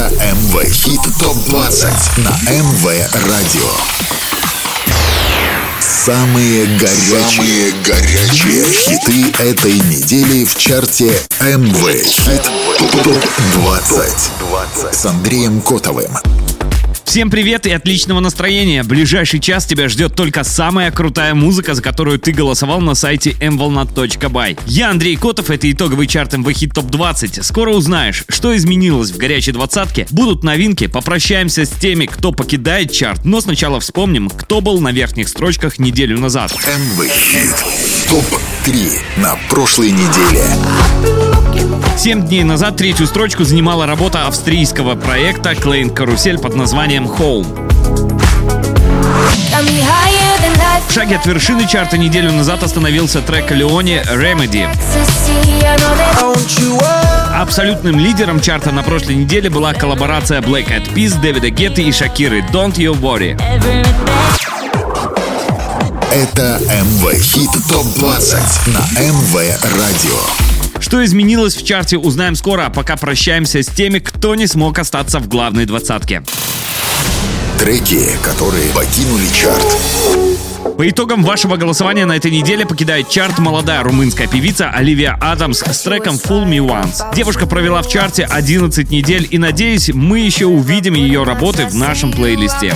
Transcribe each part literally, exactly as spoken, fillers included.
эм вэ Хит топ двадцать на эм вэ Радио. Самые горячие, Самые горячие хиты этой недели в чарте эм вэ Хит топ двадцать с Андреем Котовым. Всем привет и отличного настроения! Ближайший час тебя ждет только самая крутая музыка, за которую ты голосовал на сайте эм волна точка бай. Я Андрей Котов, это итоговый чарт эм вэ Хит топ двадцать. Скоро узнаешь, что изменилось в горячей двадцатке, будут новинки, попрощаемся с теми, кто покидает чарт, но сначала вспомним, кто был на верхних строчках неделю назад. эм вэ Хит топ три на прошлой неделе. Семь дней назад третью строчку занимала работа австрийского проекта Klein Karusell под названием Home. В шаге от вершины чарта неделю назад остановился трек Leone Remedy. Абсолютным лидером чарта на прошлой неделе была коллаборация Black Eyed Peas, Дэвида Гетты и Шакиры Don't You Worry. Это эм вэ Хит топ двадцать на эм вэ Радио. Что изменилось в чарте, узнаем скоро, а пока прощаемся с теми, кто не смог остаться в главной двадцатке. Треки, которые покинули чарт. По итогам вашего голосования на этой неделе покидает чарт молодая румынская певица Оливия Адамс с треком Fool Me Once. Девушка провела в чарте одиннадцать недель, и, надеюсь, мы еще увидим ее работы в нашем плейлисте.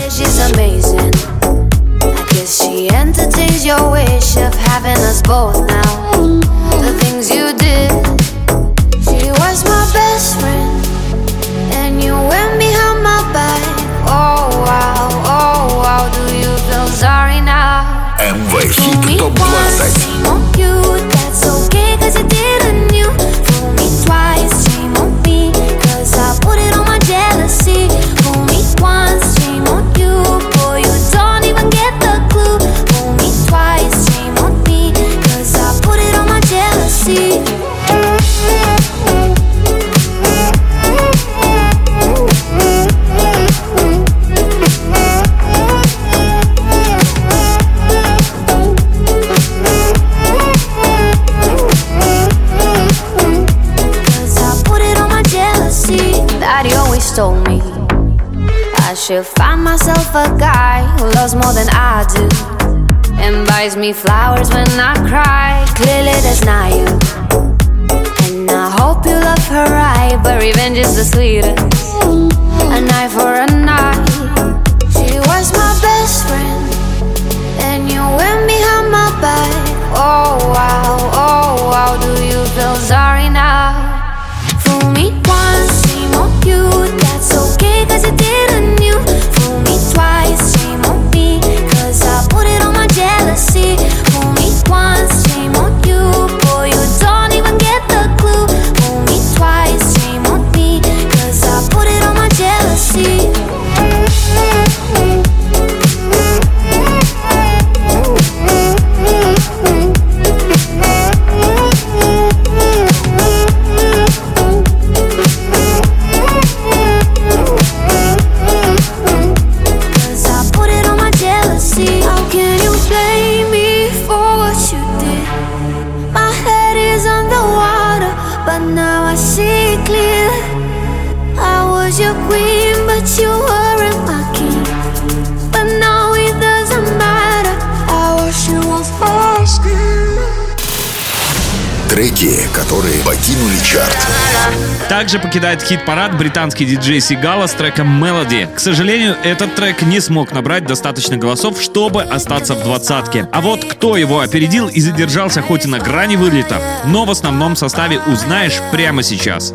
She entertains your wish of having us both now. The things you did. She was my best friend, and you went behind my back. Oh wow, oh wow, do you feel sorry now? эм вэ Хит топ двадцать. Shame on you, that's okay, cause you didn't you. Fool me twice, shame on me, cause I put it on my jealousy. Fool me once, shame on you, boy, you don't even get the clue. Fool me twice, shame on me, cause I put it on my jealousy. Told me I should find myself a guy who loves more than I do and buys me flowers when I cry. Clearly that's not you, and I hope you love her right, but revenge is the sweetest. An eye for an eye. She was my best friend, and you went behind my back. Oh wow, oh wow, do you feel sorry now? Fool me once, shame on you, that's okay, cause you didn't you. Fool me twice, shame on me, cause I put it on my jealousy. Fool me once, shame on you, boy, you don't even get the clue. Fool me twice, shame on me, cause I put it on my jealousy. Your queen, but you weren't my king. But now it doesn't matter. I wash you off my skin. Треки, которые покинули чарт. Также покидает хит-парад британский диджей Сигала с треком Melody. К сожалению, этот трек не смог набрать достаточно голосов, чтобы остаться в двадцатке. А вот кто его опередил и задержался хоть и на грани вылета, но в основном составе узнаешь прямо сейчас.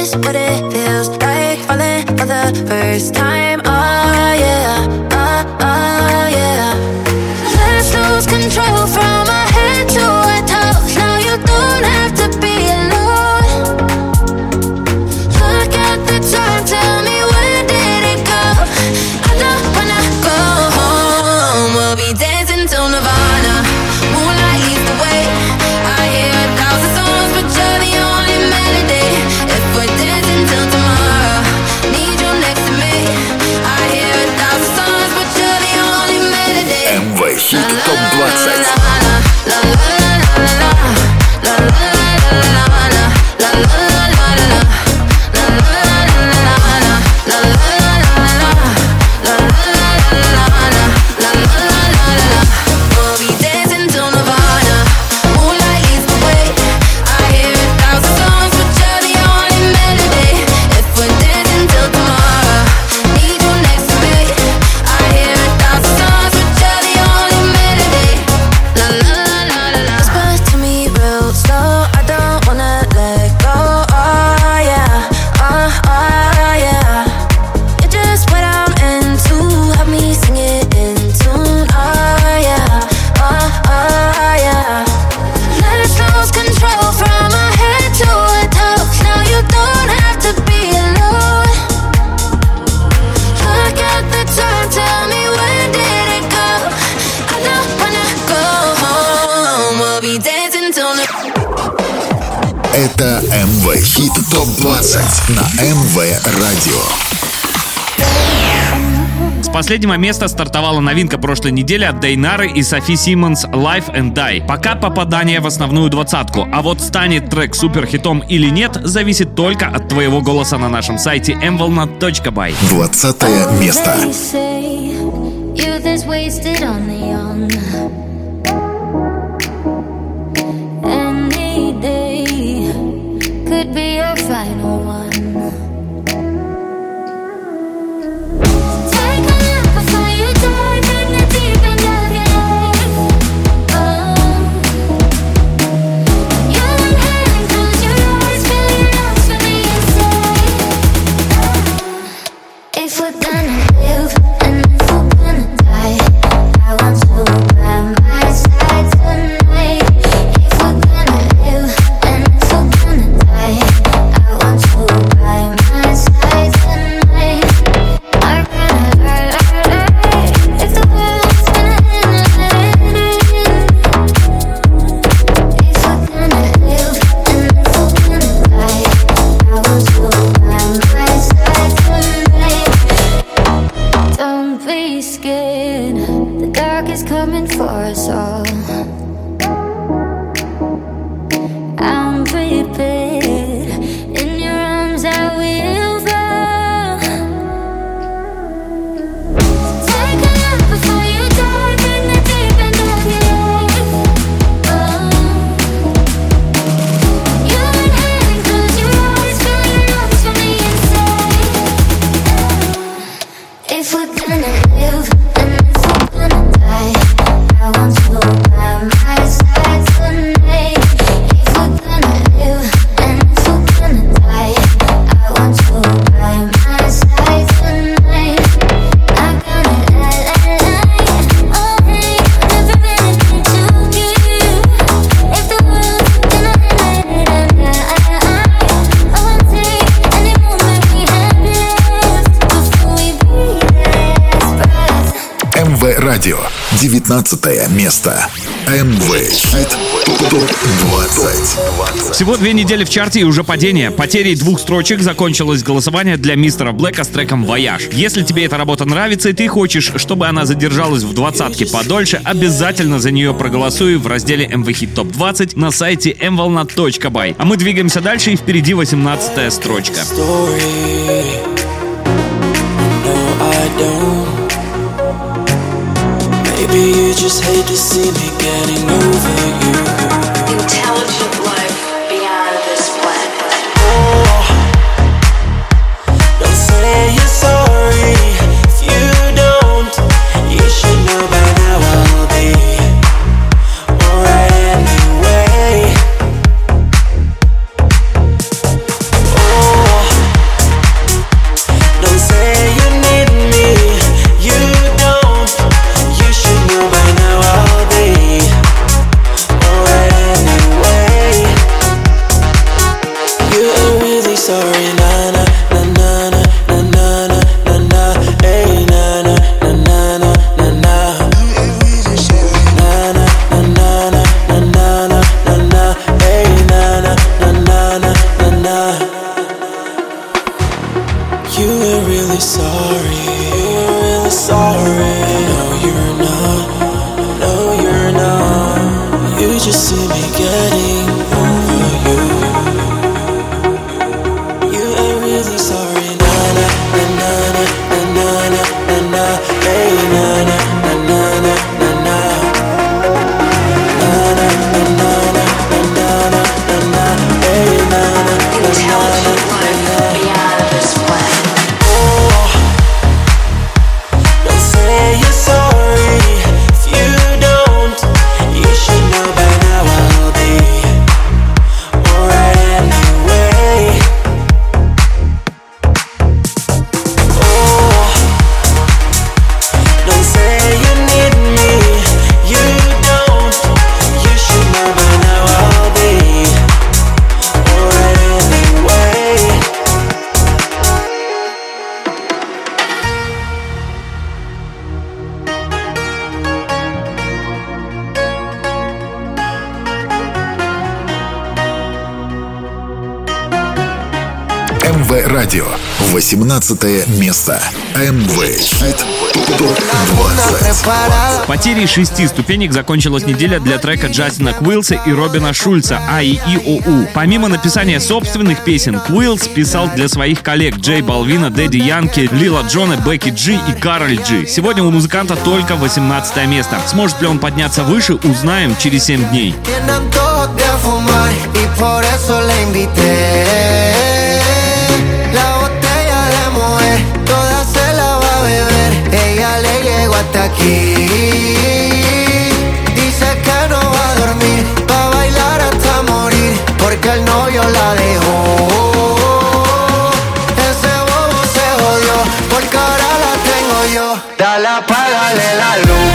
For the first time, oh yeah, oh, oh yeah. Let's lose control from our head to our toes. Now you don't have to be alone. Look at the time, tell me where did it go? I don't wanna go home. We'll be dancing till Nirvana. Moonlight leads the way. I hear a thousand songs, but you're the only melody. If we're dancing till tomorrow, need you next to me. I топ двадцать на эм вэ Радио. С последнего места стартовала новинка прошлой недели от Дейнары и Софи Симмонс «Life and Die». Пока попадание в основную двадцатку, а вот станет трек суперхитом или нет, зависит только от твоего голоса на нашем сайте эм волна точка бай. Двадцатое место. Радио. девятнадцатое место. эм вэ Хит топ двадцать. Всего две недели в чарте и уже падение. Потерей двух строчек закончилось голосование для мистера Блэка с треком «Вояж». Если тебе эта работа нравится и ты хочешь, чтобы она задержалась в двадцатке подольше, обязательно за нее проголосуй в разделе эм вэ Хит топ двадцать на сайте эм волна точка бай. А мы двигаемся дальше, и впереди восемнадцатая строчка. Maybe you just hate to see me getting over you. Intelligent life beyond this planet. Oh, don't say you're sorry if you don't. You should know by now I'll be alright anyway. Oh, don't say you need me. You don't. You should know by now I'll be alright anyway. You ain't really sorry, na na na na na na na na na. Hey na na na na na na na. You ain't really sorry, na na na na na na na na na. Hey na na na na na na na. You ain't really sorry. You ain't really sorry. No, you're not. No, you're not. You just see me getting over you. You ain't really sorry. Na na na na na na na na na. Hey na na na na na na na. Na na na na na na na na na. Hey na na na na na na. Beyond this planet. Oh, don't say you're sorry if you don't. You should know by now I'll эм вэ Радио. восемнадцатое место. эм вэ Хит топ двадцать. Потерей шести ступенек закончилась неделя для трека Джастина Квилса и Робина Шульца «А И И О У». Помимо написания собственных песен, Квилс писал для своих коллег Джей Балвина, Дэдди Янки, Лила Джона, Бекки Джи и Кароль Джи. Сегодня у музыканта только восемнадцатое место. Сможет ли он подняться выше, узнаем через семь дней. Hasta aquí dice que no va a dormir, va a bailar hasta morir, porque el novio la dejó. Ese bobo se jodió, porque ahora la tengo yo. Dale, apágale la luz.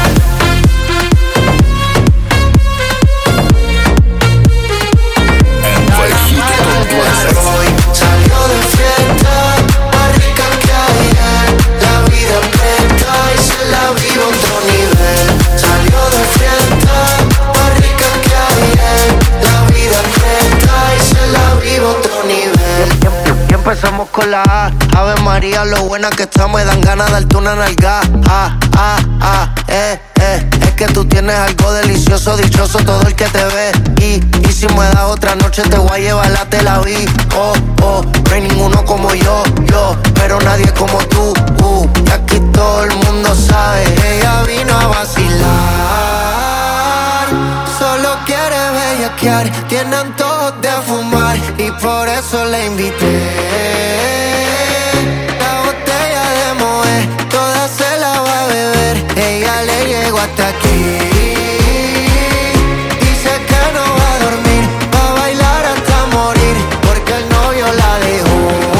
эм вэ Хит топ двадцать. Salió de fiesta, más rica que ayer. La vida presta y se la vive otro nivel. Salió de fiesta, más rica que ayer. La vida presta y se la vive otro nivel. Y empezamos con la A. Ave María, lo buena que está, me dan ganas de darte una nalga. Ah, ah, ah, eh, eh. Es que tú tienes algo delicioso, dichoso todo el que te ve. Y, y si me das otra noche te voy a llevar la Tel Aviv. Oh, oh, no hay ninguno como yo, yo, pero nadie como tú. Uh, y aquí todo el mundo sabe, ella vino a vacilar. Solo quiere bellaquear, tiene antojos de fumar y por eso le invité. La botella de Moët, toda se la va a beber. Ella le llegó hasta aquí. Dice que no va a dormir, va a bailar hasta morir, porque el novio la dejó.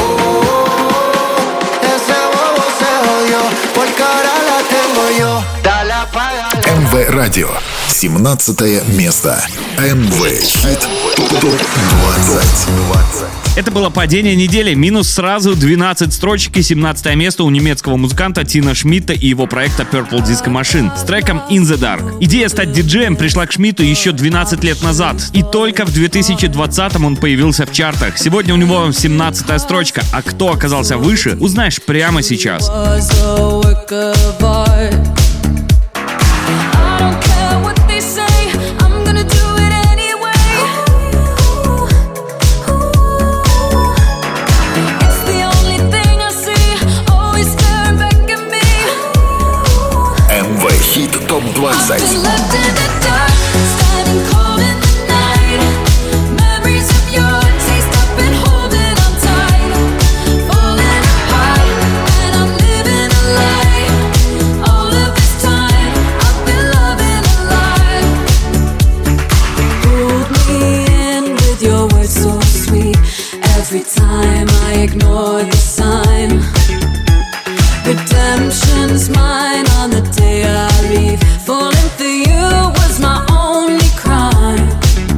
Ese bobo se jodió, porque ahora la tengo yo. Dale, apágale. эм вэ Радио. семнадцатое место. эм вэ Хит топ двадцать. Это было падение недели. Минус сразу двенадцать строчек и семнадцатое место у немецкого музыканта Тина Шмидта и его проекта Purple Disco Machine с треком In the Dark. Идея стать диджеем пришла к Шмидту еще двенадцать лет назад. И только в две тысячи двадцатом он появился в чартах. Сегодня у него семнадцатая строчка. А кто оказался выше, узнаешь прямо сейчас. эм вэ Хит топ двадцать. Every time I ignore the sign, redemption's mine on the day I leave. Falling for you was my only crime.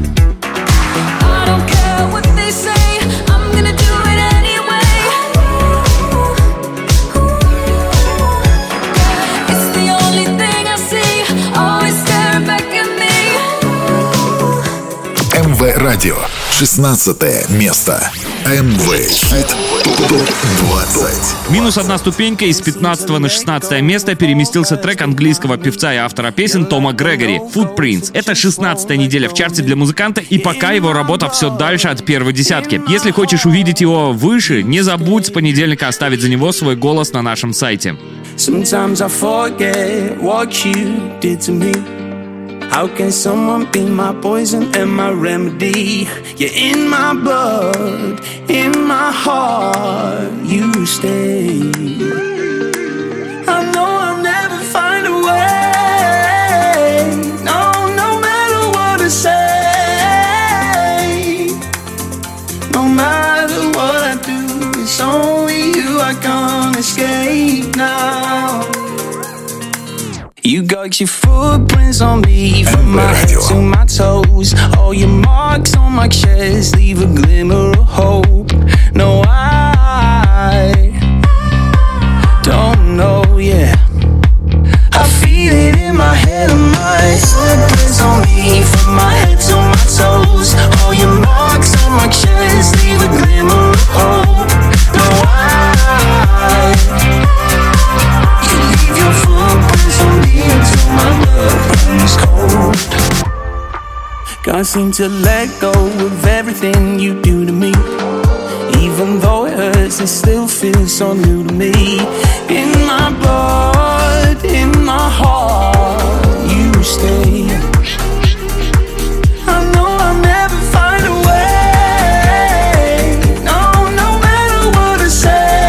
I don't care what they say, I'm gonna do it anyway. It's the only thing I see, always staring back at me. эм вэ Радио. шестнадцатое место. эм вэ Хит топ двадцать. Минус одна ступенька, из пятнадцатого на шестнадцатое место переместился трек английского певца и автора песен Тома Грегори «Footprints». Это шестнадцатая неделя в чарте для музыканта, и пока его работа все дальше от первой десятки. Если хочешь увидеть его выше, не забудь с понедельника оставить за него свой голос на нашем сайте. Sometimes I forget what you did to me. How can someone be my poison and my remedy? You're in my blood, in my heart, you stay. I know I'll never find a way. No, no matter what I say. No matter what I do, it's only you I can't escape now. You got your footprints on me from my head to my toes. All your marks on my chest leave a glimmer of hope. No, I don't know, yeah. I feel it in my head and my footprints on me from my head to my toes. All your marks on my chest leave a glimmer of hope. Can't seem to let go of everything you do to me. Even though it hurts, it still feels so new to me. In my blood, in my heart, you stay. I know I'll never find a way. No, no matter what I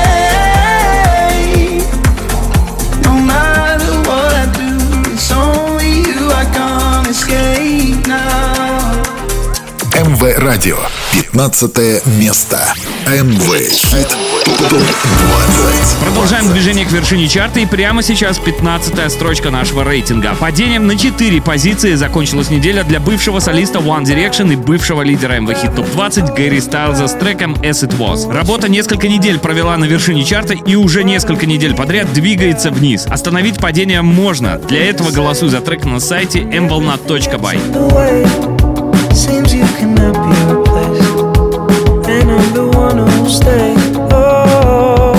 say, no matter what I do, it's only you I can't escape now. эм вэ Радио. пятнадцатое место. эм вэ Хит топ двадцать. Продолжаем движение к вершине чарта, и прямо сейчас пятнадцатая строчка нашего рейтинга. Падением на четыре позиции закончилась неделя для бывшего солиста One Direction и бывшего лидера эм вэ Хит топ двадцать Гэри Стайлза с треком As It Was. Работа несколько недель провела на вершине чарта и уже несколько недель подряд двигается вниз. Остановить падение можно. Для этого голосуй за трек на сайте эм волна точка бай. Seems you cannot be replaced, and I'm the one who'll stay. Oh,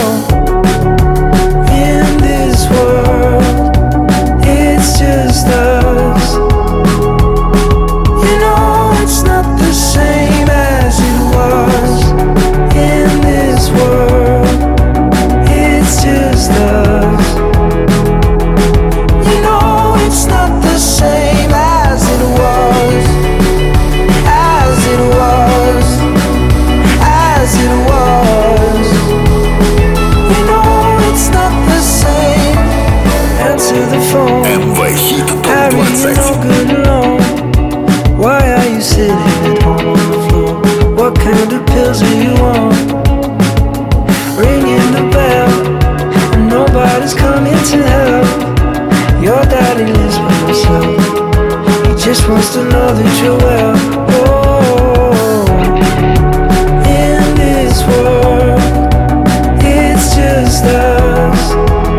in this world, it's just us. You know it's not the same as it was. In this world, it's just us. You know it's not the same as it was. эм вэ Хит топ двадцать. Why are you sitting at home on the floor? What kind of pills do you want? Ringing the bell, and nobody's coming to help. Your daddy lives by himself. He just wants to know that you're well. Oh, in this world, it's just us.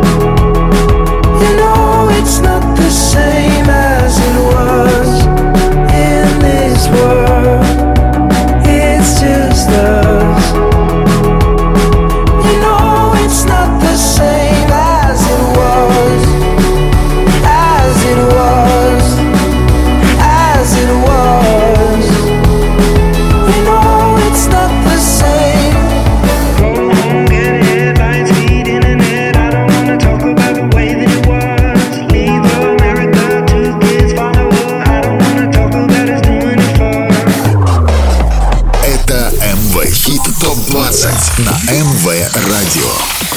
It's not the same as it was. In this world, it's just us. You know it's not the same as it was. As it was. As it was. You know it's not the same. Go home, get headlines, feed internet. I don't wanna talk about the way that it was. Хит топ двадцать на эм вэ Радио.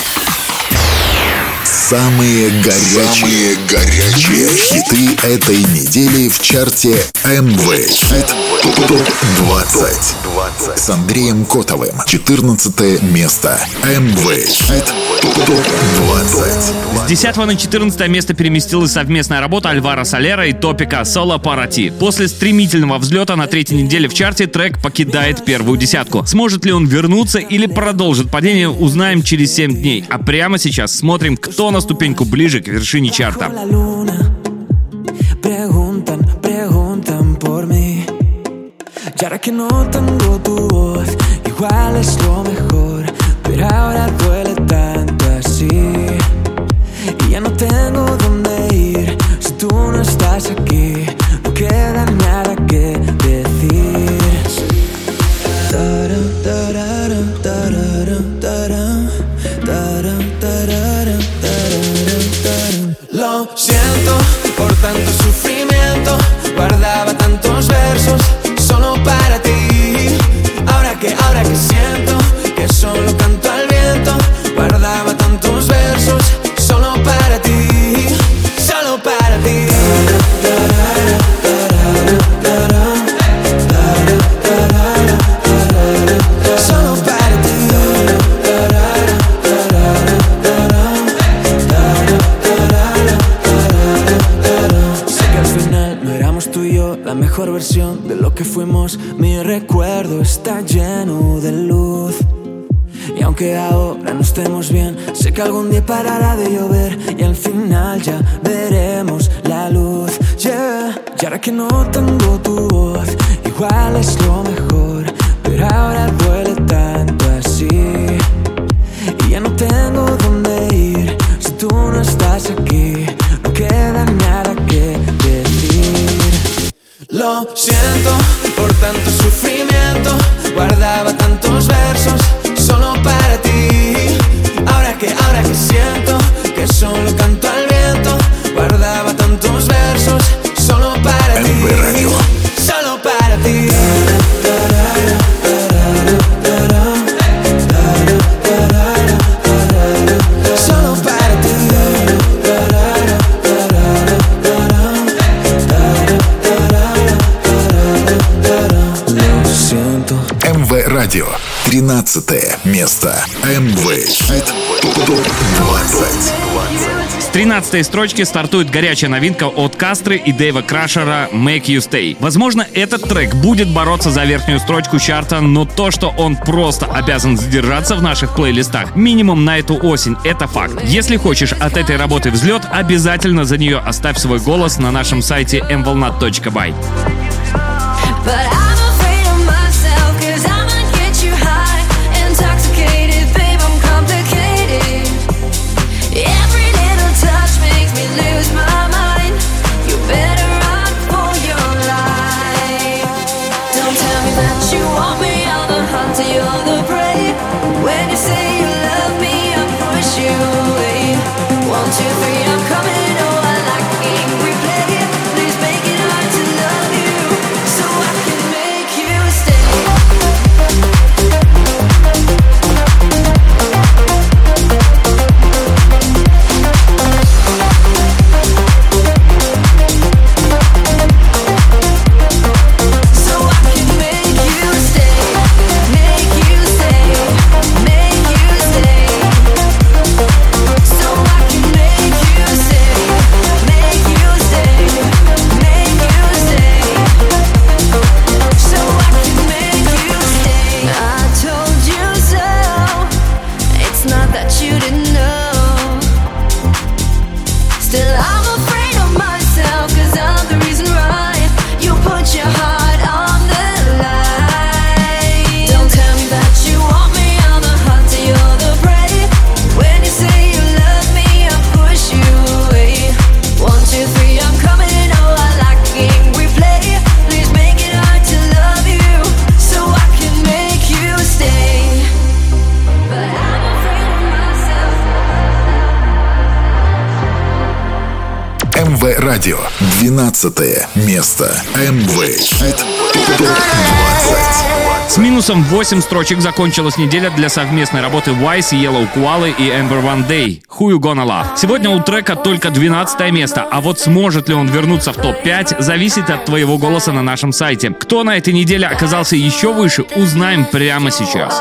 Самые горячие, горячие хиты этой недели в чарте эм вэ Хит топ двадцать с Андреем Котовым. четырнадцатое место. эм вэ Хит топ двадцать. С десятого на четырнадцатое место переместилась совместная работа Альваро Солера и Топика «Соло Пара Ти». После стремительного взлета на третьей неделе в чарте трек покидает первую десятку. Сможет ли он вернуться или продолжит падение, узнаем через семь дней. А прямо сейчас смотрим, кто на ступеньку ближе к вершине чарта. Y ya no tengo dónde ir. Si tú no estás aquí, no queda nada que decir. Lo siento por tanto sufrimiento. Guardaba tantos versos solo para ti. Ahora que, ahora que siento que solo canto al viento. Guardaba tantos versos solo para ti, solo para ti. Solo para ti. Sé que al final no éramos tú y yo la mejor versión de lo que fuimos. Mi recuerdo está lleno de luz. Y aunque ahora no estemos bien, sé que algún día parará de llover y al final ya veremos la luz. Yeah. Y ahora que no tengo tu voz, igual es lo mejor, pero ahora duele tanto así. Y ya no tengo dónde ir. Si tú no estás aquí, no queda nada que decir. Lo siento тринадцатое место. эм вэ Хит топ двадцать. С тринадцатой строчки стартует горячая новинка от Кастры и Дэйва Крашера «Make You Stay». Возможно, этот трек будет бороться за верхнюю строчку чарта, но то, что он просто обязан задержаться в наших плейлистах минимум на эту осень, это факт. Если хочешь от этой работы взлет, обязательно за нее оставь свой голос на нашем сайте эм волна точка бай. эм вэ Радио. двенадцатое место. эм вэ Хит топ двадцать. С минусом восемь строчек закончилась неделя для совместной работы Wise, Yellow Koala и Amber One Day «Who You Gonna Love». Сегодня у трека только двенадцатое место, а вот сможет ли он вернуться в топ пять, зависит от твоего голоса на нашем сайте. Кто на этой неделе оказался еще выше, узнаем прямо сейчас.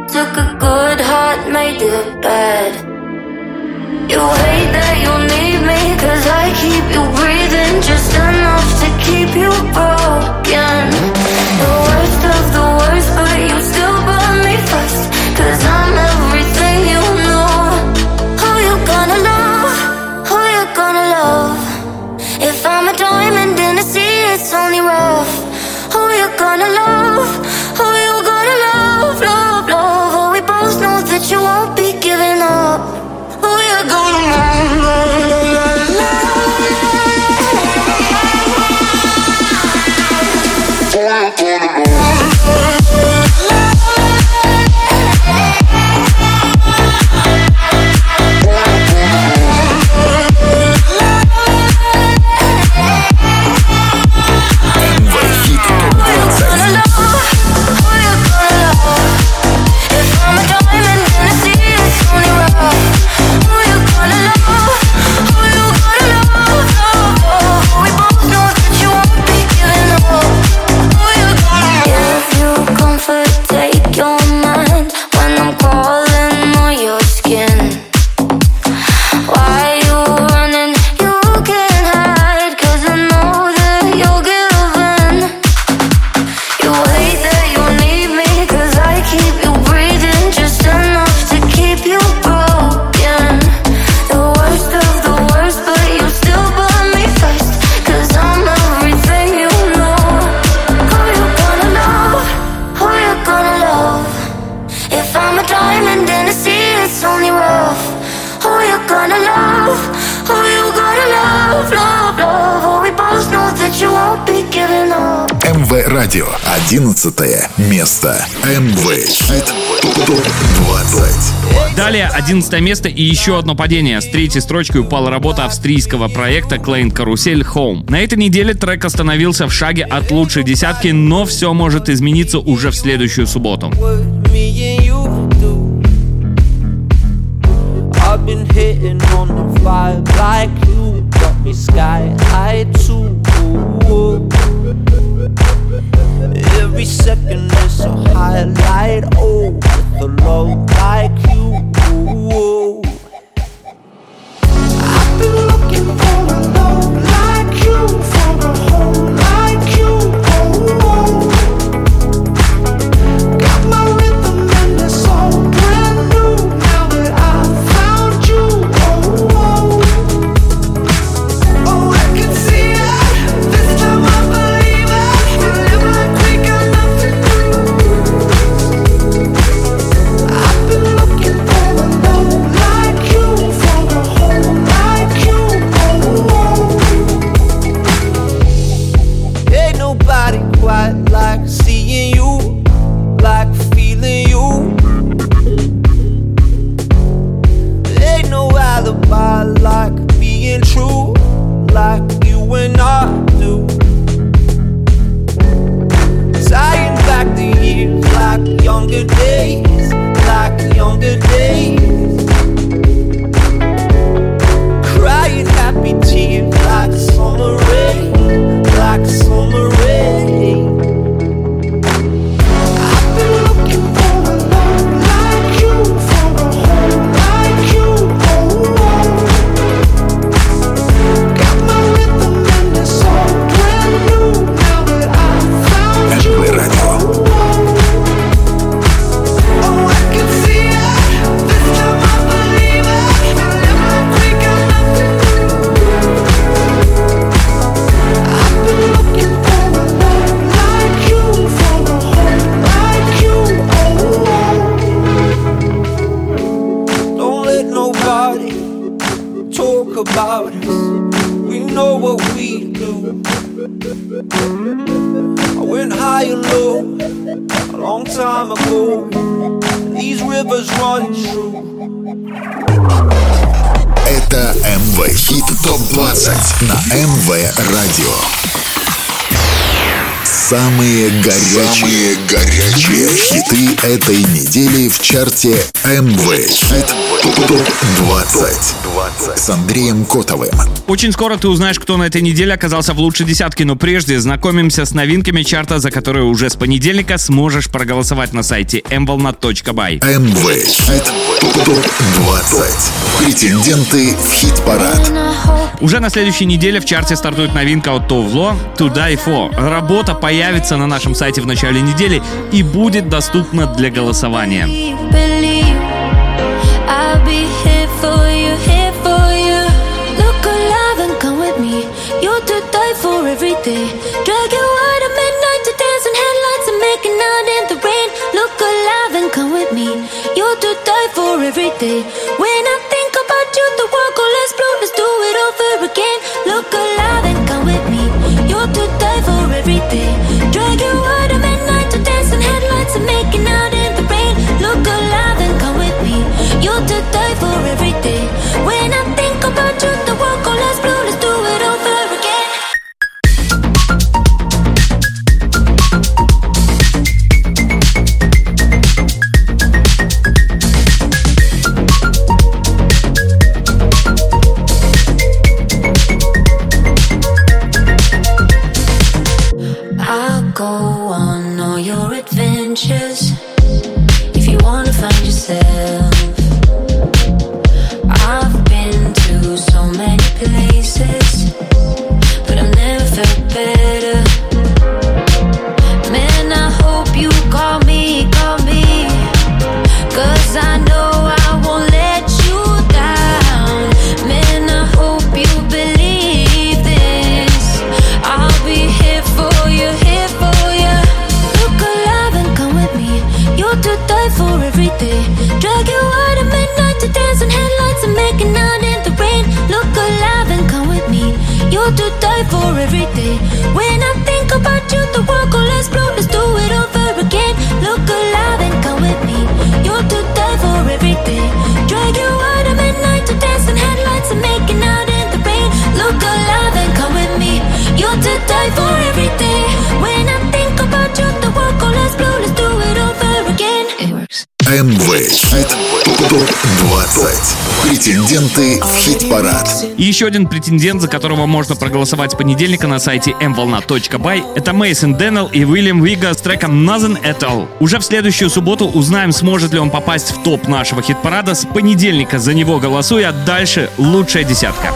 You hate that you need me, cause I keep you breathing just enough to keep you broken. The worst of the worst, but you still burn me first, cause I'm everything you know. Who you gonna love? Who you gonna love? If I'm a diamond in the sea, it's only rough. Who you gonna love? Who you gonna love? Love, love. Oh, we both know that you won't be giving up. Who you gonna love, love, love, love? Who you gonna love? эм вэ Радио. одиннадцатое место. эм вэ Хит топ двадцать. Далее одиннадцатое место и еще одно падение. С третьей строчкой упала работа австрийского проекта Klein Karusell Home. На этой неделе трек остановился в шаге от лучшей десятки, но все может измениться уже в следующую субботу. I've been hitting on the vibe like you got me sky high too. If every second is a highlight. Oh, with a love like you. I've been looking for a love like you, for a home like you. Oh, got my rhythm and it's all brand new now that I found you. Oh, oh, I can see it. This time I believe it. We live like we got nothing to lose. I've been looking for a love like you, for a home like you. Oh, ain't nobody quite like seeing you, like feeling you. Ain't no alibi like being true, like you and I do. Tying back the years like younger days, like younger days. Crying happy tears like summer rain, like summer rain. I've been looking for a love like you, for a home like you. Oh, got my rhythm and it's all brand new now that I found you. эм вэ радио. Oh, I can see it. This time I believe it. We live like we got nothing to lose. I've been looking for a love like you, for a home like you. Oh, don't let nobody talk about us. We know what we do. I went high and low a long time ago. These rivers run true. Это эм вэ Хит топ двадцать на эм вэ радио. Самые горячие, Самые горячие хиты этой недели в чарте эм вэ Хит топ двадцать с Андреем Котовым. Очень скоро ты узнаешь, кто на этой неделе оказался в лучшей десятке, но прежде знакомимся с новинками чарта, за которые уже с понедельника сможешь проголосовать на сайте эм волна точка бай. эм вэ Хит топ двадцать. Претенденты в хит-парад. Уже на следующей неделе в чарте стартует новинка от Товло «To Die For». Работа появится на нашем сайте в начале недели и будет доступна для голосования. Believe I'll be here for you, here for you. Look alive and come with me. You're to die for every day. Drag you out at midnight to dance in headlights and making out in the rain. Look alive and come with me. You're to die for every day. When I think about you, the world goes let's blow, let's do it over again. Look alive and come with me. You're to die for every day. Drag you out at midnight to dance in headlights and making out in the rain. Look alive and come with me. You're to die for every day. When I think about you, the world goes let's blow, let's do it over again. I'll go on all your adventures if you wanna find yourself. I've been to so many places, but I've never felt better. Man, I hope you call me, call me, 'cause I know I won't let you down. Man, I hope you believe this. I'll be here for you, here for you. Look alive and come with me. You're to die for every day. Drag you out at midnight to dance in headlights and making out in the rain. Look alive and come with me. You're to die for every day. When I think about you, the world goes let's blow, let's do it over again. Look alive and come with me. You're to die for every day. Drag you out at midnight to dance in headlights and making out in the rain. Look alive and come with me. You're to die for every day. When I think about you, the world goes let's blow, let's do it over again. It works. эм вэ Хит топ двадцать. Претенденты в хит-парад. И еще один претендент, за которого можно проголосовать с понедельника на сайте эм волна точка бай, это Мейсон Дэннел и Уильям Вига с треком Nothing at All. Уже в следующую субботу узнаем, сможет ли он попасть в топ нашего хит-парада. С понедельника за него голосуй, а дальше лучшая десятка.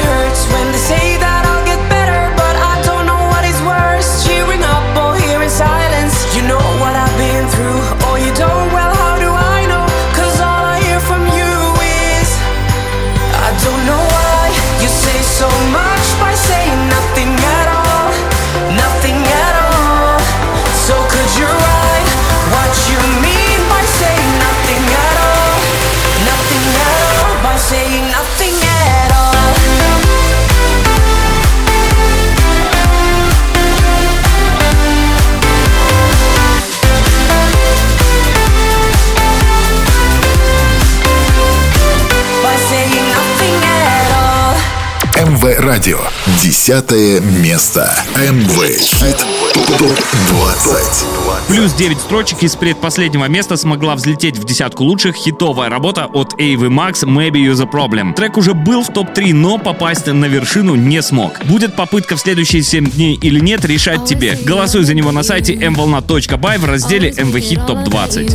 эм вэ Радио. Десятое место. эм вэ Хит топ двадцать. Плюс девять строчек из предпоследнего места смогла взлететь в десятку лучших хитовая работа от Эйвы Макс «Maybe You're the Problem». Трек уже был в топ три, но попасть на вершину не смог. Будет попытка в следующие семь дней или нет, решать тебе. Голосуй за него на сайте эм волна точка бай в разделе эм вэ Хит топ двадцать.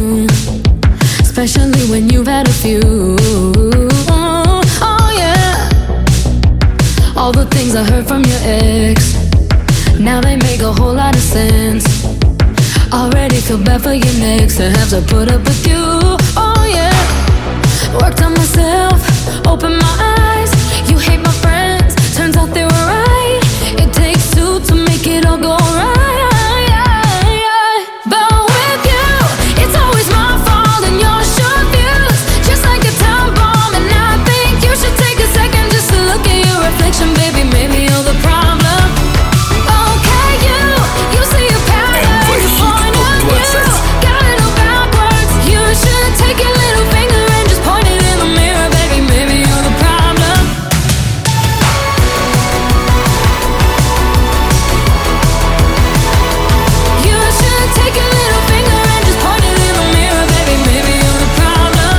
All the things I heard from your ex, now they make a whole lot of sense. Already feel bad for your next to have to put up with you. Oh yeah, worked on myself, opened my eyes. You hate my friends, turns out they were right. It takes two to make it all go right. But with you, it's always my fault and your short views, just like a time bomb. And I think you should take a second just to look at your reflection, baby. Maybe you're the problem. Okay, you, you see a pattern. эм вэ Хит топ двадцать. Got it all backwards. You should take your little finger and just point it in the mirror, baby. Maybe you're the problem. You should take your little finger and just point it in the mirror, baby. Maybe you're the problem.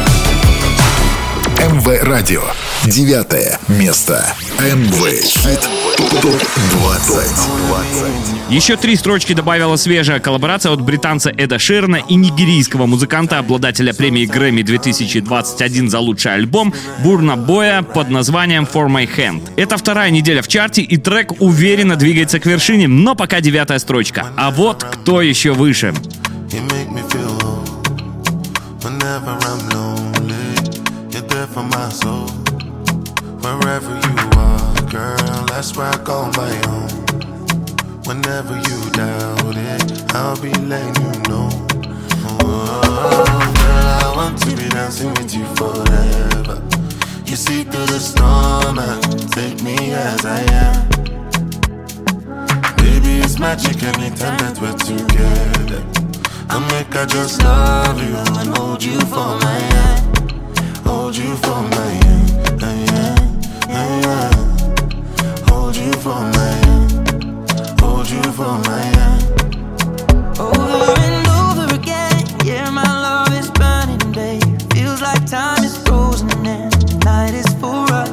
эм вэ Радио. Девятое место. эм вэ Хит топ двадцать. Еще три строчки добавила свежая коллаборация от британца Эда Ширана и нигерийского музыканта, обладателя премии Грэмми две тысячи двадцать один за лучший альбом Бурна Боя под названием For My Hand. Это вторая неделя в чарте, и трек уверенно двигается к вершине, но пока девятая строчка. А вот кто еще выше. You make me feel whole. Whenever I'm lonely, you're there for my soul. Wherever you are, girl, that's where I call my own. Whenever you doubt it, I'll be letting you know. Oh, girl, I want to be dancing with you forever. You see through the storm and take me as I am. Baby, it's magic anytime that we're together. I make I just love you and hold you for my hand. Hold you for my hand, yeah, yeah, yeah. Hold you for my hand. Hold you for my hand. Over and over again, yeah, my love is burning, babe. Feels like time is frozen and the night is for us.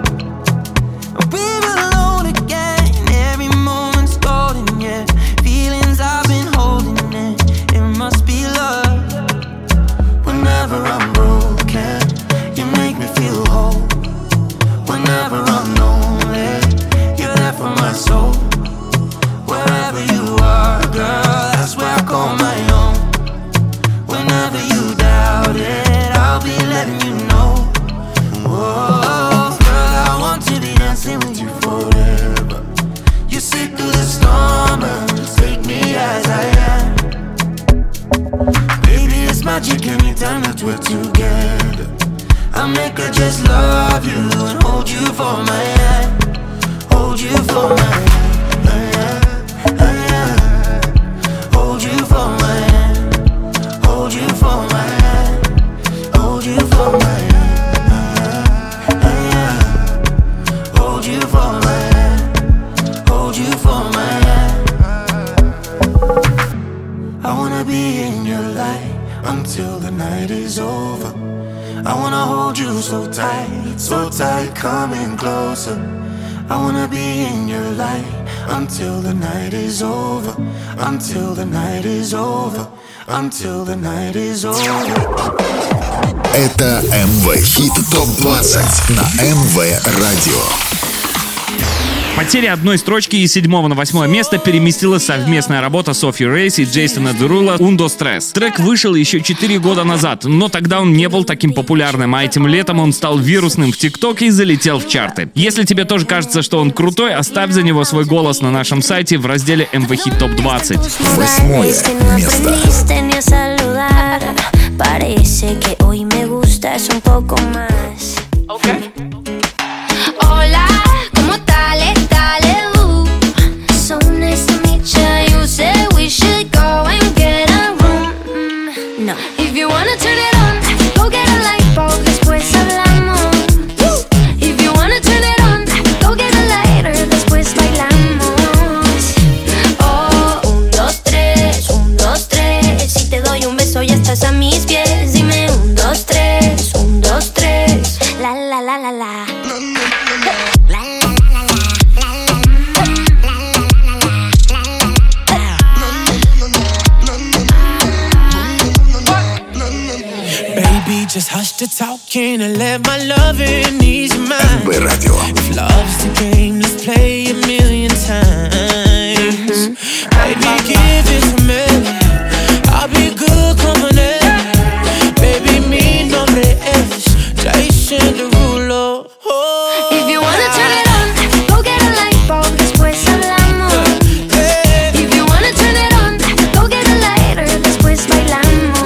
We're alone again, every moment's golden, yeah. Feelings I've been holding in, it must be love. Whenever I'm broken, you make me feel whole. Whenever I'm lonely, you're there for my soul. Wherever you are, girl, that's where I call my own. Whenever you doubt it, I'll be letting you know. Oh, girl, I want to be dancing with you forever. You see through the storm and take me as I am. Baby, it's magic anytime that we're together. I make her just love you and hold you for my hand. Hold you for my hand. Hold you for my hand. Hold you for my hand. Hold you for my hand. Hold you for my hand. Hold you for my hand. I wanna be in your light until the I wanna hold you so tight, so tight, coming closer. I wanna be in your light until the night is over, until the night is over, until the night is over. Это эм вэ Хит топ двадцать на эм вэ Радио. Потеря одной строчки из седьмого на восьмое место переместила совместная работа Софи Рейс и Джейсона Дерула «Undo Stress». Трек вышел еще четыре года назад, но тогда он не был таким популярным, а этим летом он стал вирусным в ТикТоке и залетел в чарты. Если тебе тоже кажется, что он крутой, оставь за него свой голос на нашем сайте в разделе эм вэ Хит топ двадцать. Восьмое место. Hola, ¿cómo tal? Dale, uh. So nice to meet you. You said we should go and get a room. Mm, no. If you wanna turn it on, go get a light bulb. Después hablamos. If you wanna turn it on, go get a lighter. Después bailamos. Oh, un, dos, tres, un, dos, tres. Si te doy un beso ya estás a mis pies. Dime un, dos, tres, un, dos, tres. La, la, la, la, la. Just hush the talking and let my loving ease your mind. эм вэ Радио. If love's the game, let's play a million times. Baby, give it to me. I'll be good company. Baby, mi nombre es Jason Derulo. Oh. If you wanna turn it on, go get a light bulb. Después hablamos. If you wanna turn it on, go get a lighter. Después bailamos.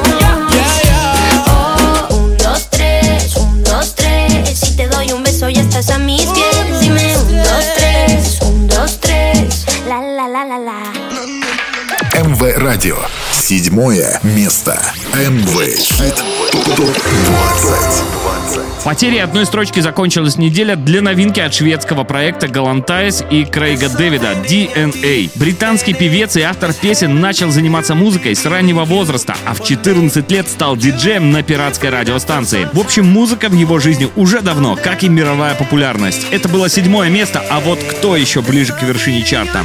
Ya estás a mis pies, dime un, dos, tres, un, dos, tres, la, la, la, la, la. эм вэ Радио. Седьмое место. эм вэ Хит топ двадцать. Потерей одной строчки закончилась неделя для новинки от шведского проекта Galantis и Крейга Дэвида ди эн эй. Британский певец и автор песен начал заниматься музыкой с раннего возраста, а в четырнадцать лет стал диджеем на пиратской радиостанции. В общем, музыка в его жизни уже давно, как и мировая популярность. Это было седьмое место, а вот кто еще ближе к вершине чарта?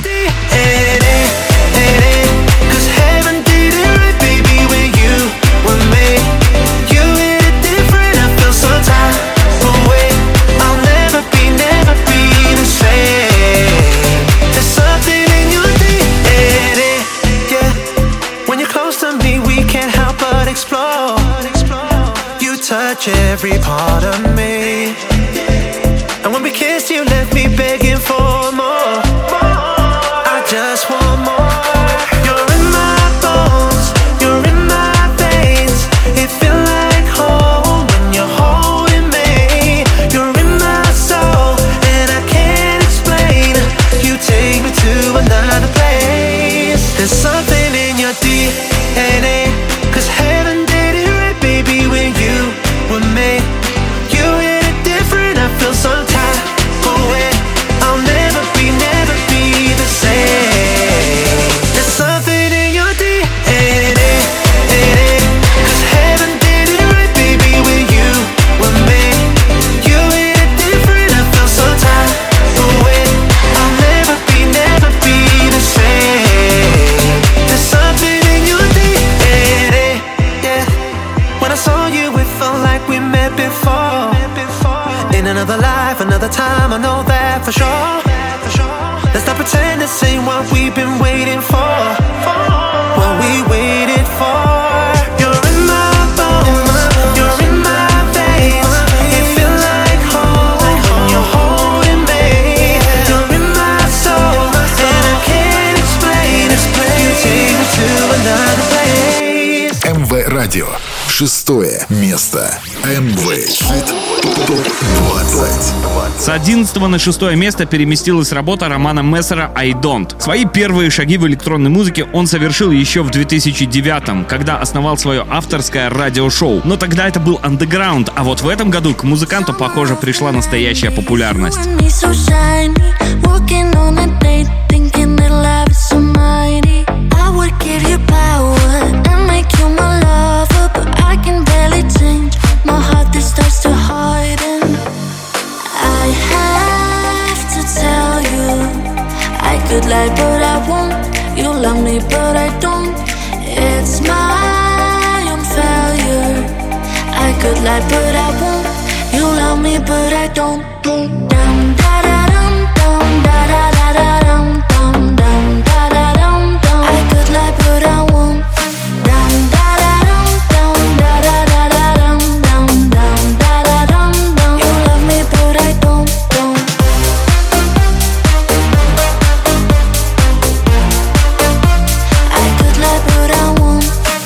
Every part of me, and when we kissed, you left me begging for more. I just want more. You're in my bones, you're in my veins. It feels like home when you're holding me. You're in my soul, and I can't explain. You take me to another place. There's something in your D N A, 'cause heaven did it right, baby, when you were made. You hit it different, I feel some type of way. I'll never be, never be the same. There's something in your D N A, 'cause heaven did it right, baby, when you were made. You hit it different, I feel some type of way. I'll never be, never be the same. There's something in your D N A, yeah. When I saw you, it felt like we met before. In another life, another time, I know that for sure. Let's not pretend this ain't what we've been waiting for. What we waited for. You're in my bones, you're in my veins. It feels like home when you're holding me. You're in my soul, and I can't explain. You take me to another place. эм вэ Радио. Шестое место. эм вэ Хит топ двадцать. С одиннадцатого на шестое место переместилась работа Романа Мессера «I Don't». Свои первые шаги в электронной музыке он совершил еще в две тысячи девятом, когда основал свое авторское радиошоу. Но тогда это был андеграунд, а вот в этом году к музыканту, похоже, пришла настоящая популярность. My heart this lie, but I won't. You love me, but I don't. Dum da da dum dum da da da da dum dum dum da da dum dum. I could lie, but I won't. Dum da da dum dum da da da da dum dum dum da da dum dum. You love me, but I don't. Don't. I could lie, but I won't.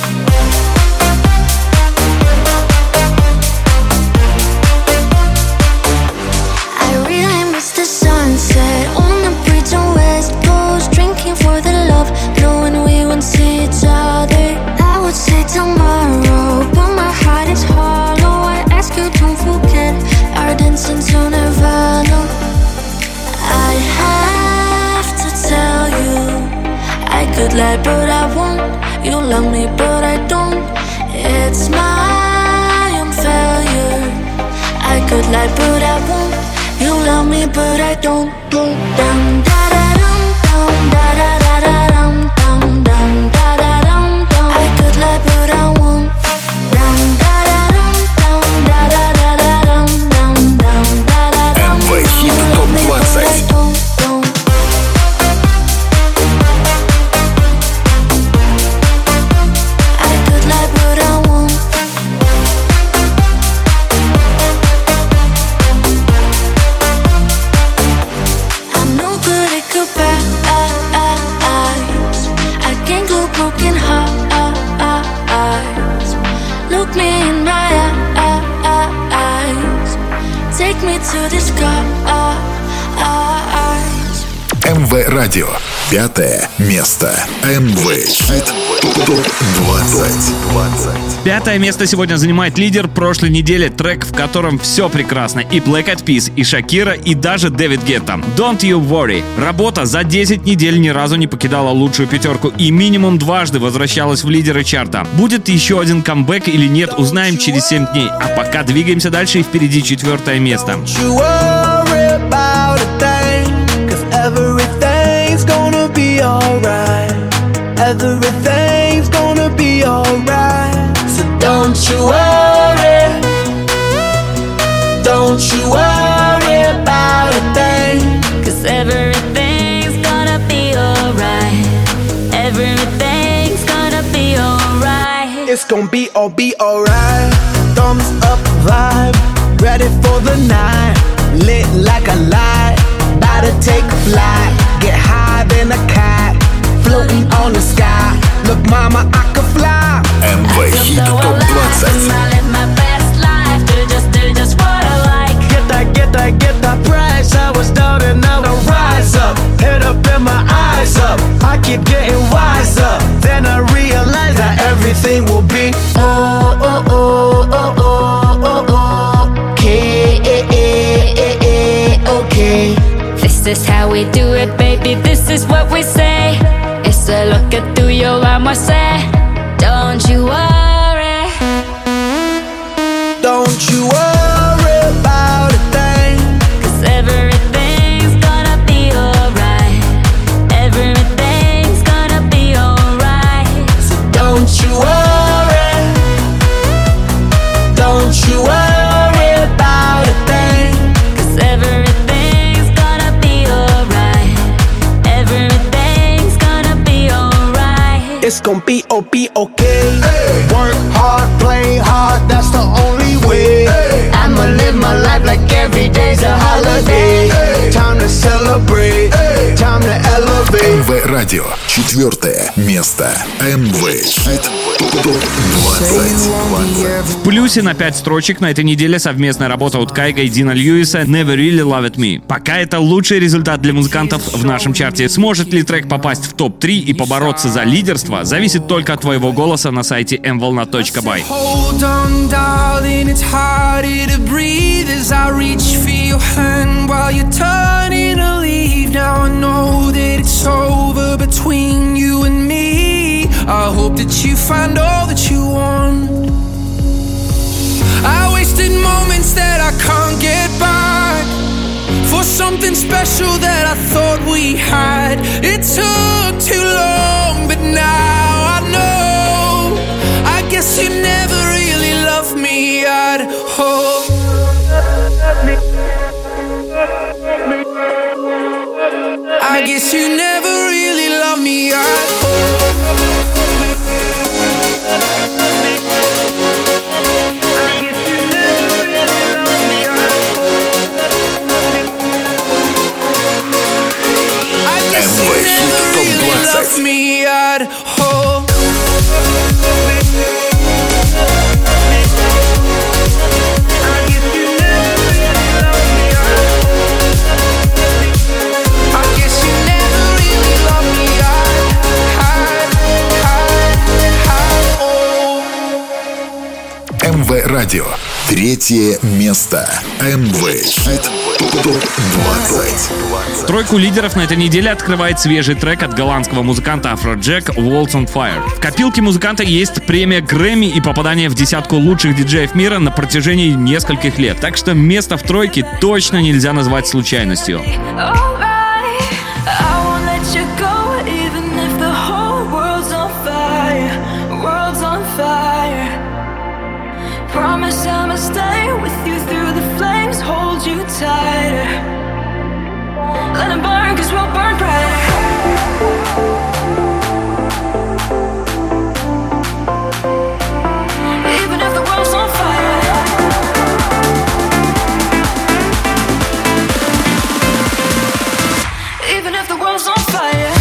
I really miss the sunset on the bridge on West Coast, drinking for the love, knowing we won't see each other. I would say tomorrow, but my heart is hollow. I ask you, don't forget our dancing to Nirvana. I have to tell you, I could lie, but I won't. You love me, but I don't. It's my own failure. I could lie, but I won't. You love me, but I don't. Dum da da dum dum da da da da dum dum dum da da dum dum. I could lie, but I won't. Dum da da dum dum da da da da dum dum dum da da dum. эм вэ Хит топ двадцать. I could lie, but I won't. I'm no good at goodbyes. I can't glue broken hearts. Look me in my eyes. Take me to the skies. эм вэ Радио. Пятое место. эм вэ Хит топ двадцать. Пятое место сегодня занимает лидер прошлой недели, трек, в котором все прекрасно. И Black Eyed Peas, и Шакира, и даже Дэвид Гетта. Don't You Worry. Работа за десять недель ни разу не покидала лучшую пятерку и минимум дважды возвращалась в лидеры чарта. Будет еще один камбэк или нет, узнаем через семь дней. А пока двигаемся дальше, и впереди четвертое место. You worry about a thing, 'cause everything's gonna be alright. Everything's gonna be alright. So don't you worry. Don't you worry about a thing. 'Cause everything's gonna be alright. Everything's gonna be alright. It's gonna be all be alright. Thumbs up vibe, ready for the night. Lit like a light, about to take a flight. Get high than a cat, floating on the sky. Look mama, I can fly. эм вэ Хит топ двадцать. Get that, get that, get that price. I was down and now I rise up. Head up and my eyes up. I keep getting wiser. Then I realize that everything will be oh, oh, oh, oh, oh, oh, oh. Okay, eh, eh, eh, eh, okay. This is how we do it, baby. This is what we say. It's a look at tuyo, vamos a hacer. Don't you worry. Don't you worry about a thing. 'Cause everything's gonna be alright. Everything's gonna be alright. So don't you worry. Don't you worry about a thing. 'Cause everything's gonna be alright. Everything's gonna be alright. It's gonna be oh be okay. Work hard, play hard, that's the only way. I'ma live my life like every day's a holiday. Time to celebrate, time to elevate. эм вэ Радио. Четвертое место. эм вэ Хит топ двадцать. В плюсе на пять строчек на этой неделе совместная работа от Кайга и Дина Льюиса «Never Really Loved Me». Пока это лучший результат для музыкантов в нашем чарте. Сможет ли трек попасть в топ три и побороться за лидерство, зависит только от твоего голоса на сайте эм волна точка бай. Hold on, darling, it's harder to breathe as I reach for your hand while you're turning to leave. Now I know that it's over between you and me. I hope that you find all that you want. I wasted moments that I can't get back for something special that I thought we had. It took too long, but now I know. I guess you never really loved me me at home. I guess you never really loved me at home. I guess you never really loved me at home. эм вэ Радио. Третье место. эм вэ Хит топ двадцать. Тройку лидеров на этой неделе открывает свежий трек от голландского музыканта Afrojack «Walls on Fire». В копилке музыканта есть премия Грэмми и попадание в десятку лучших диджеев мира на протяжении нескольких лет. Так что место в тройке точно нельзя назвать случайностью. Promise I'ma stay with you through the flames, hold you tighter. Let it burn, cause we'll burn brighter. Even if the world's on fire. Even if the world's on fire.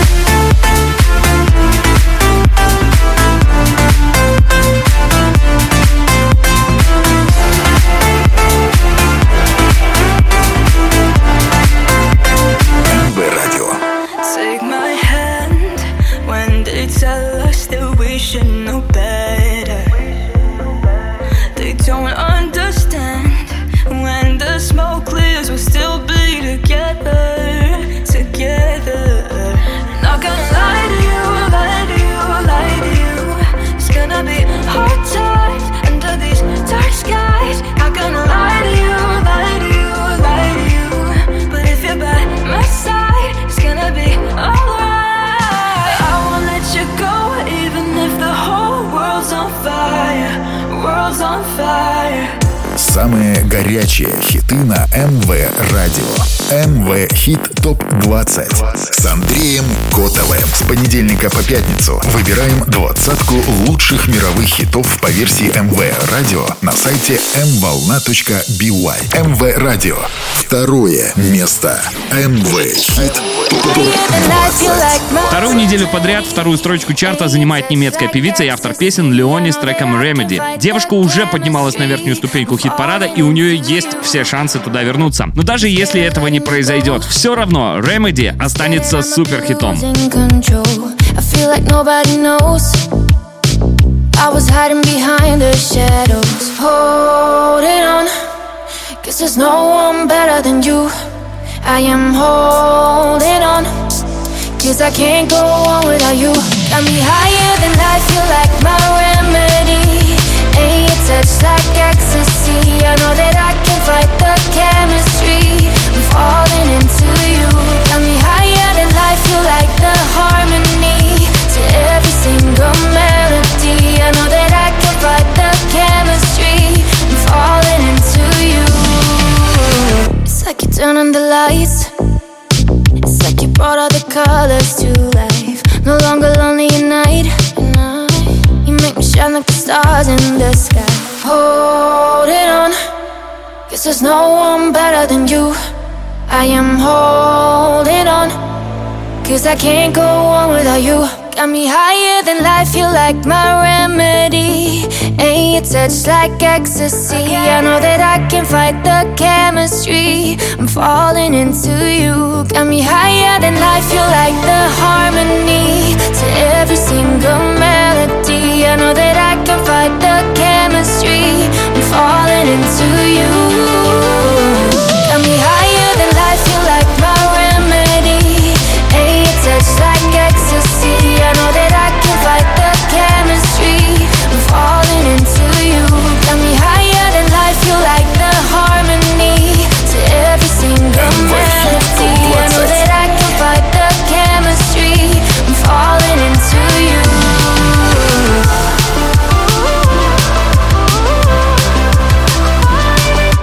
Take my hand when they tell us that we should know better. They don't understand when the smoke clears, we'll still be together, together. Not gonna lie to you, lie to you, lie to you. It's gonna be hard times under these dark skies. Not gonna lie to you, lie to you, lie to you. But if you're by my side, it's gonna be alright. I won't let you go, even if the whole world's on fire, world's on fire. Самые горячие хиты на эм вэ Радио. эм вэ Хит топ двадцать с Андреем Котовым. С понедельника по пятницу выбираем двадцатку лучших мировых хитов по версии эм вэ Радио на сайте эм волна точка би уай. эм вэ Радио. Второе место. эм вэ Хит топ двадцать. Вторую неделю подряд вторую строчку чарта занимает немецкая певица и автор песен Леони с треком «Remedy». Девушка уже поднималась на верхнюю ступеньку хит-парада, и у нее есть все шансы туда вернуться. Но даже если этого не произойдет, все равно «Remedy» останется суперхитом. I am holding on, cause I can't go on without you. Got me higher than life, you like my remedy. And your touch like ecstasy. I know that I can fight the chemistry. I'm falling into you. Got me higher than life, you like the harmony to every single melody. I know that I can fight the chemistry. I'm falling into you. It's like you turn on the lights. It's like you brought all the colors to life. No longer lonely at night. You make me shine like the stars in the sky. Hold it on, cause there's no one better than you. I am holding on, cause I can't go on without you. Got me higher than life, you like my remedy. And your touch like ecstasy. I know that I can fight the chemistry. I'm falling into you. Got me higher than life, you like the harmony to every single melody. I know that I can fight the chemistry. I'm falling into you. Got me higher than life, you like my remedy. And your touch like ecstasy. I know that I can fight the chemistry. I'm falling into you. Got me higher than life, you like the harmony to every single melody. I know that I can fight the chemistry. I'm falling into you.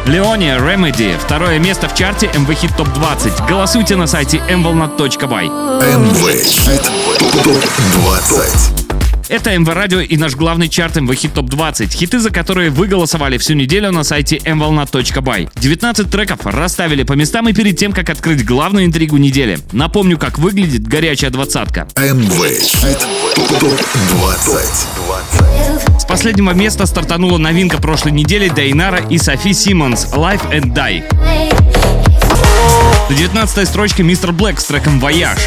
Leone Remedy. Второе место в чарте эм ви Hit Топ двадцать. Голосуйте на сайте эм волна точка бай. эм ви Хит Топ двадцать. Это эм вэ Радио и наш главный чарт эм ви Hit Топ двадцать. Хиты, за которые вы голосовали всю неделю на сайте эм волна точка бай. девятнадцать треков расставили по местам и перед тем, как открыть главную интригу недели. Напомню, как выглядит горячая двадцатка. эм ви Хит Топ двадцать. С последнего места стартанула новинка прошлой недели Дейнара и Софи Симмонс «Life and Die». На девятнадцатой строчке мистер Блэк с треком «Voyage».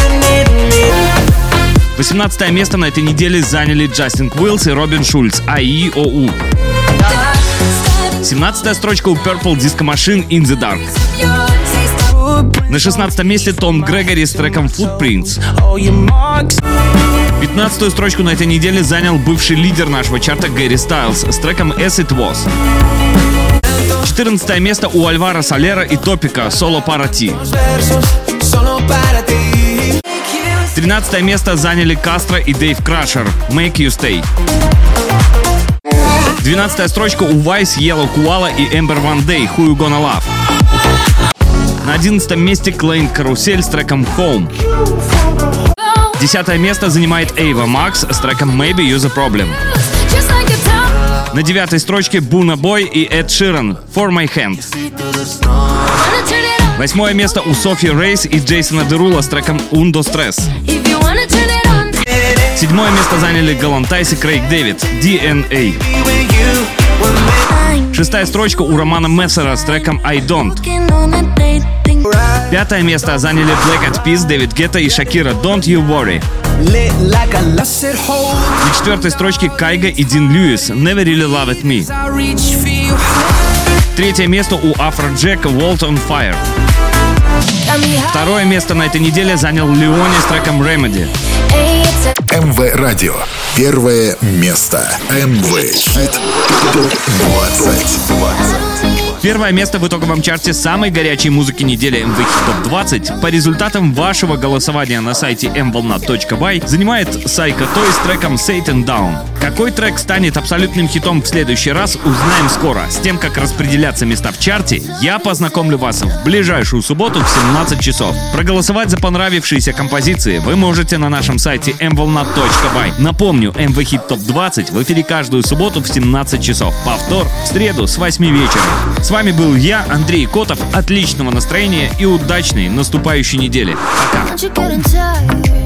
восемнадцатое место на этой неделе заняли Джастин Квиллс и Робин Шульц «эй и о у». семнадцатая строчка у Purple Disco Machine «In the Dark». На шестнадцатом месте Том Грегори с треком «Footprints». пятнадцатую строчку на этой неделе занял бывший лидер нашего чарта Гэри Стайлз с треком «As It Was». четырнадцатое место у Альваро Солера и Топика «Solo para ti». тринадцатое место заняли Кастро и Дэйв Крашер «Make You Stay». двенадцатая строчка у Вайс, Yellow Koala и Эмбер Ван Дэй «Who You Gonna Love». На одиннадцатом месте Клейн Карусель с треком «Home». десятое место занимает Эйва Макс с треком «Maybe You're the Problem». На девятой строчке Буна Бой и Эд Ширан «For My Hand». Восьмое место у Софи Рейс и Джейсона Дерула с треком «Undo Stress». Седьмое место заняли Галантайс и Крейг Дэвид «ди эн эй». Шестая строчка у Романа Мессера с треком «I Don't». Пятое место заняли Black Eyed Peas, Дэвид Гетта и Шакира «Don't You Worry». На четвертой строчке Кайга и Дин Льюис «Never Really Loved Me». Третье место у Афроджека «World on Fire». Второе место на этой неделе занял Леони с треком «Remedy». эм вэ Радио. Первое место. эм вэ Хит Топ двадцать. Первое место в итоговом чарте самой горячей музыки недели эм вэ Hit Топ двадцать по результатам вашего голосования на сайте эм волна точка бай занимает Psycho Toy с треком Satan Down. Какой трек станет абсолютным хитом в следующий раз, узнаем скоро. С тем, как распределяться места в чарте, я познакомлю вас в ближайшую субботу в семнадцать часов. Проголосовать за понравившиеся композиции вы можете на нашем сайте эм волна точка бай. Напомню, эм вэ Hit Топ двадцать в эфире каждую субботу в семнадцать часов. Повтор в среду с восьми вечера. С вами был я, Андрей Котов. Отличного настроения и удачной наступающей недели. Пока.